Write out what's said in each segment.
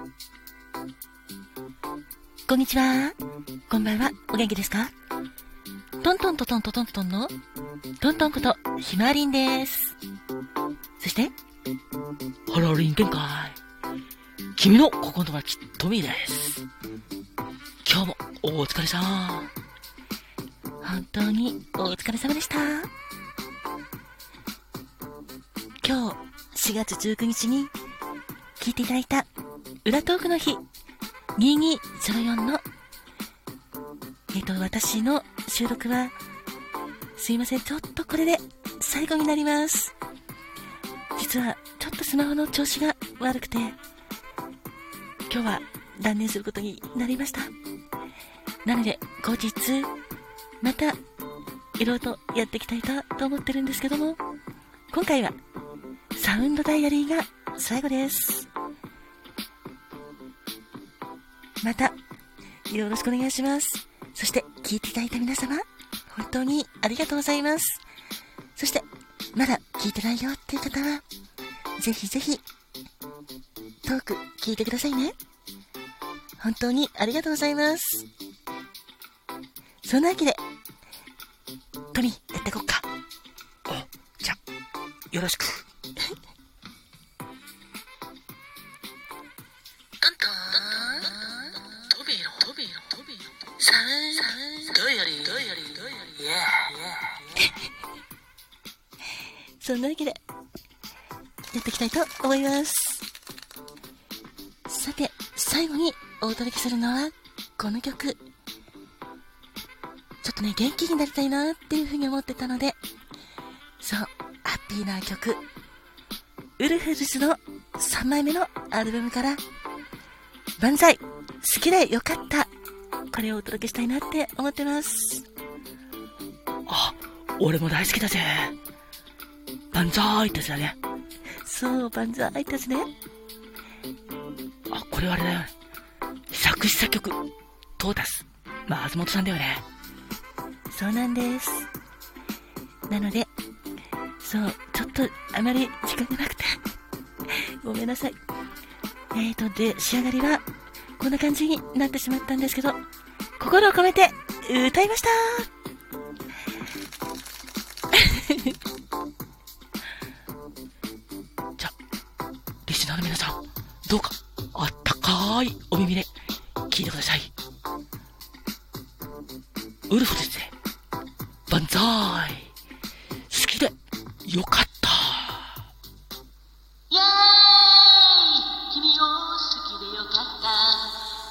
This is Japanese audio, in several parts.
こんにちは。こんばんは。お元気ですか？トントントントントントンのトントンことひまわりんです。そしてハローリン展開。君の心の友達トミーです。今日もお疲れさん。本当にお疲れ様でした。今日4月19日に聞いていただいた裏トークの日2204の私の収録はすいません、ちょっとこれで最後になります。実はちょっとスマホの調子が悪くて今日は断念することになりました。なので後日またいろいろとやっていきたいと思ってるんですけども、今回はサウンドダイアリーが最後です。またよろしくお願いします。そして聞いていただいた皆様本当にありがとうございます。そしてまだ聞いてないよっていう方はぜひぜひトーク聞いてくださいね。本当にありがとうございます。そんなわけでトミーやっていこっか。じゃあよろしく。トントントビーのサウンドよりそんなわけでやっていきたいと思います。さて最後にお届けするのはこの曲。ちょっとね元気になりたいなっていうふうに思ってたので、そうハッピーな曲、ウルフルズの3枚目のアルバムから万歳、好きでよかった、これをお届けしたいなって思ってます。あ、俺も大好きだぜ。万歳ってやつだね。そう、万歳ってやつね。あ、これはあれだよね、作詞作曲トータス松本さんだよね。そうなんです。なのでそうちょっとあまり時間がなくてごめんなさい。で仕上がりはこんな感じになってしまったんですけど、心を込めて歌いましたじゃあリスナーの皆さんどうかあったかいお耳で聞いてください。ウルフですね、万歳、好きでよかった。 イエーイ、君を好きでよかった、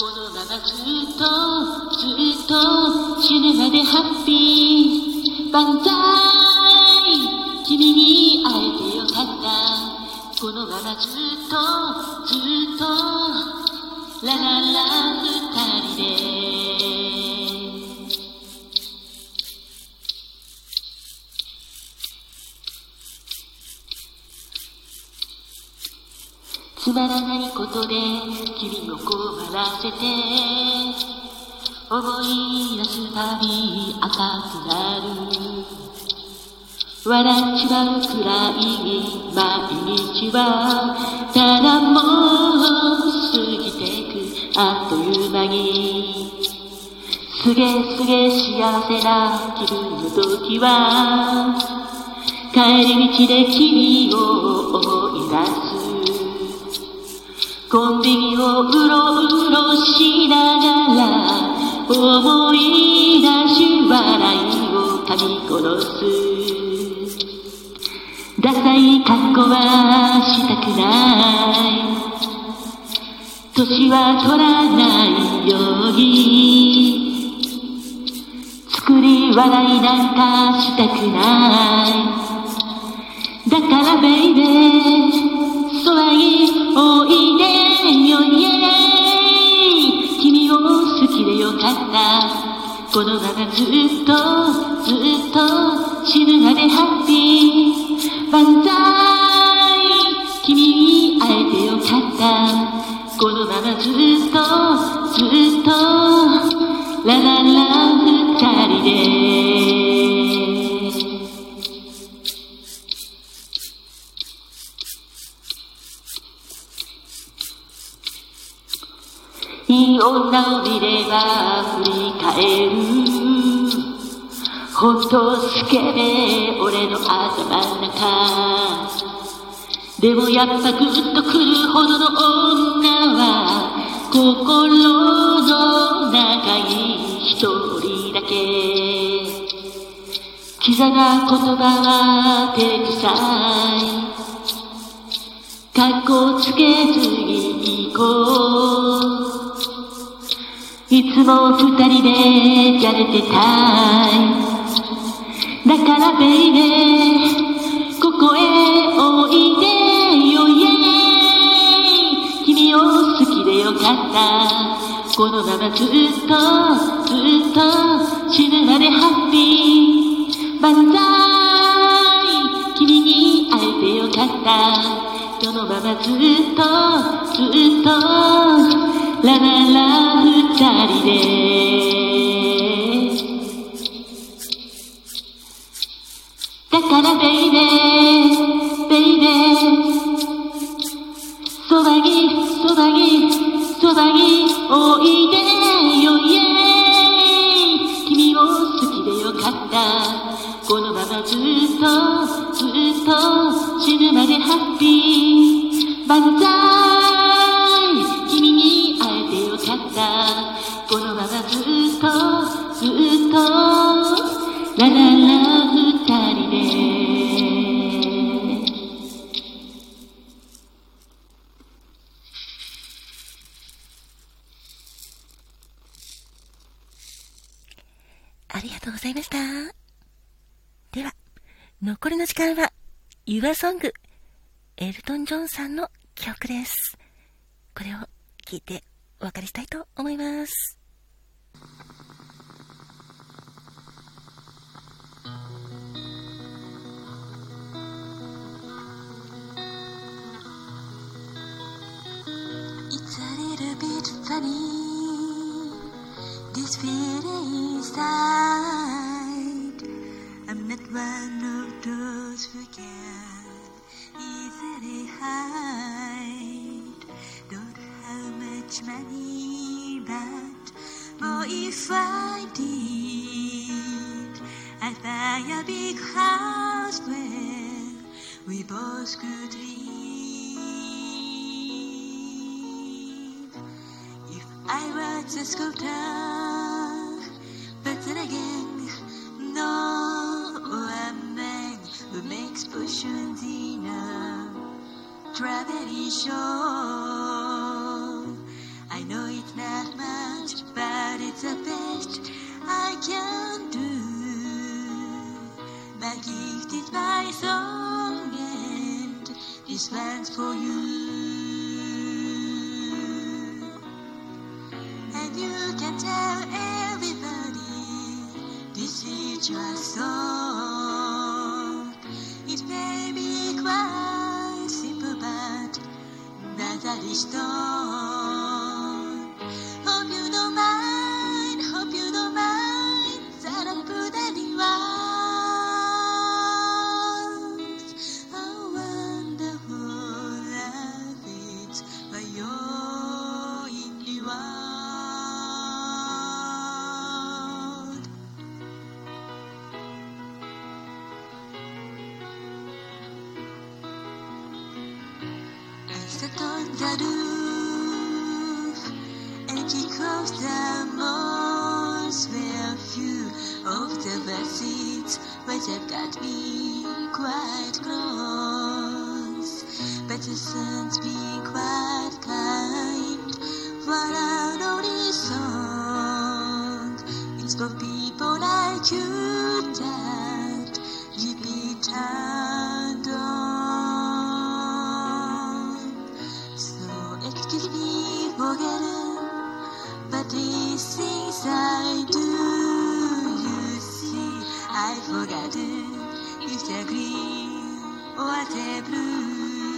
このままずっと死ぬまでハッピー、万歳、君に会えてよかった、このままずっとラララ二人でつまらないことで君を困らせて思い出すたび赤くなる、笑っちまうくらい毎日はただもう過ぎてくあっという間に、すげ幸せな気分の時は帰り道で君を思い出す、コンビニをうろしながら思い出し笑いを噛み殺す、ダサい格好はしたくない、年は取らないように作り笑いなんかしたくない、だからベイベー騒ぎおいでよイエーイ、君を好きでよかった、このままずっと死ぬまでハッピー、万歳、君に会えてよかった、このままずっとラララ二人でいい女を見れば振り返る。ほんとスケベ俺の頭の中。でもやっぱグッとくるほどの女は心の中に一人だけ。キザな言葉は照れくさい。かっこつけずに行こう。いつも二人でじゃれてたい。だからベイベーここへおいでよイエーイ。君を好きでよかった。このままずっと死ぬまでハッピー万歳。君に会えてよかった。そのままずっとラララ二人で。だからベイベーベイベーそばにおいでよイエーイ。君を好きでよかった。このままずっと死ぬまでハッピー万歳。君に会えてよかった。このままずっとラララ二人で。 ありがとうございました。では、残りの時間は、Your Song、エルトン・ジョンさんの曲です。これを聴いてお別れしたいと思います。 It's a little bit funny, this feeling inside. I'm not one of those who can easily hide. Don't have much money, but oh, if I did, I'd buy a big house where we both could live. If I was a sculptor, but then again, no, a man who makes potions in a traveling show. I know it's not much, but it's the best I can do. My gift is my song, and this one's for you. And you can tell everybody this is your song. It may be quite simple, but that's a stone. Hope you don't mind that I put any words. How wonderful life is by your in the world. I sat on the roof and kicked off the moss where a few of the seats might have got me quite close. But the sun's been quite kind for our only song. It's for people like you that you be turned on. So excuse me for getting, but these things I do, you see, I've forgotten if they're green or they're blue.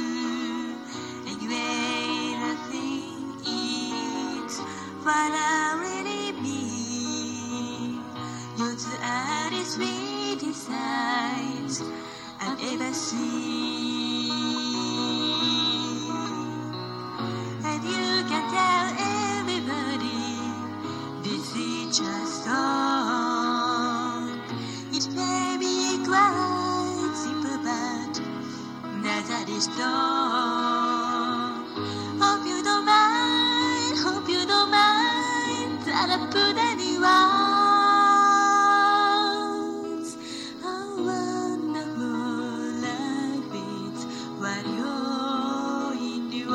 Anyway, nothing is what I really mean. You're the hardest sweetest sights I've ever seen. And you can tell everybody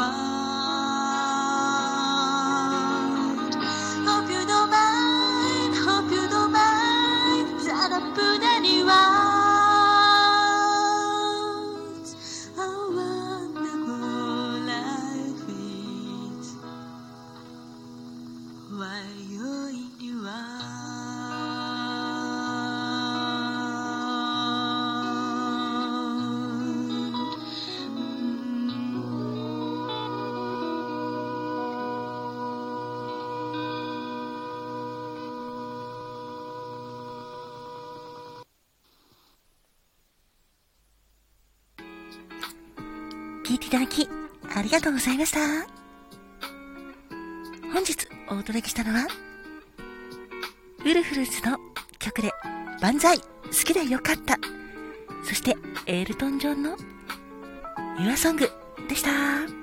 Hope you don't mind, hope you don't mind that I put any words. How wonderful life is while you're in the world. 聞いていただきありがとうございました。本日お届けしたのはウルフルズの曲で万歳好きでよかった、そしてエルトン・ジョンの Your Song でした。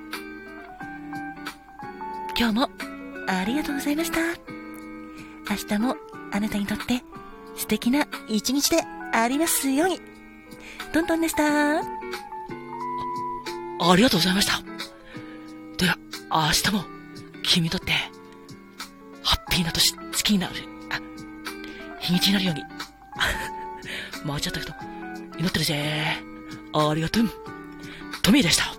今日もありがとうございました。明日もあなたにとって素敵な一日でありますように。トントンでした。 ありがとうございました。では、明日も君にとってハッピーな年、月になる、日にちになるように。間違ったけど、祈ってるぜ。ありがとう。トミーでした。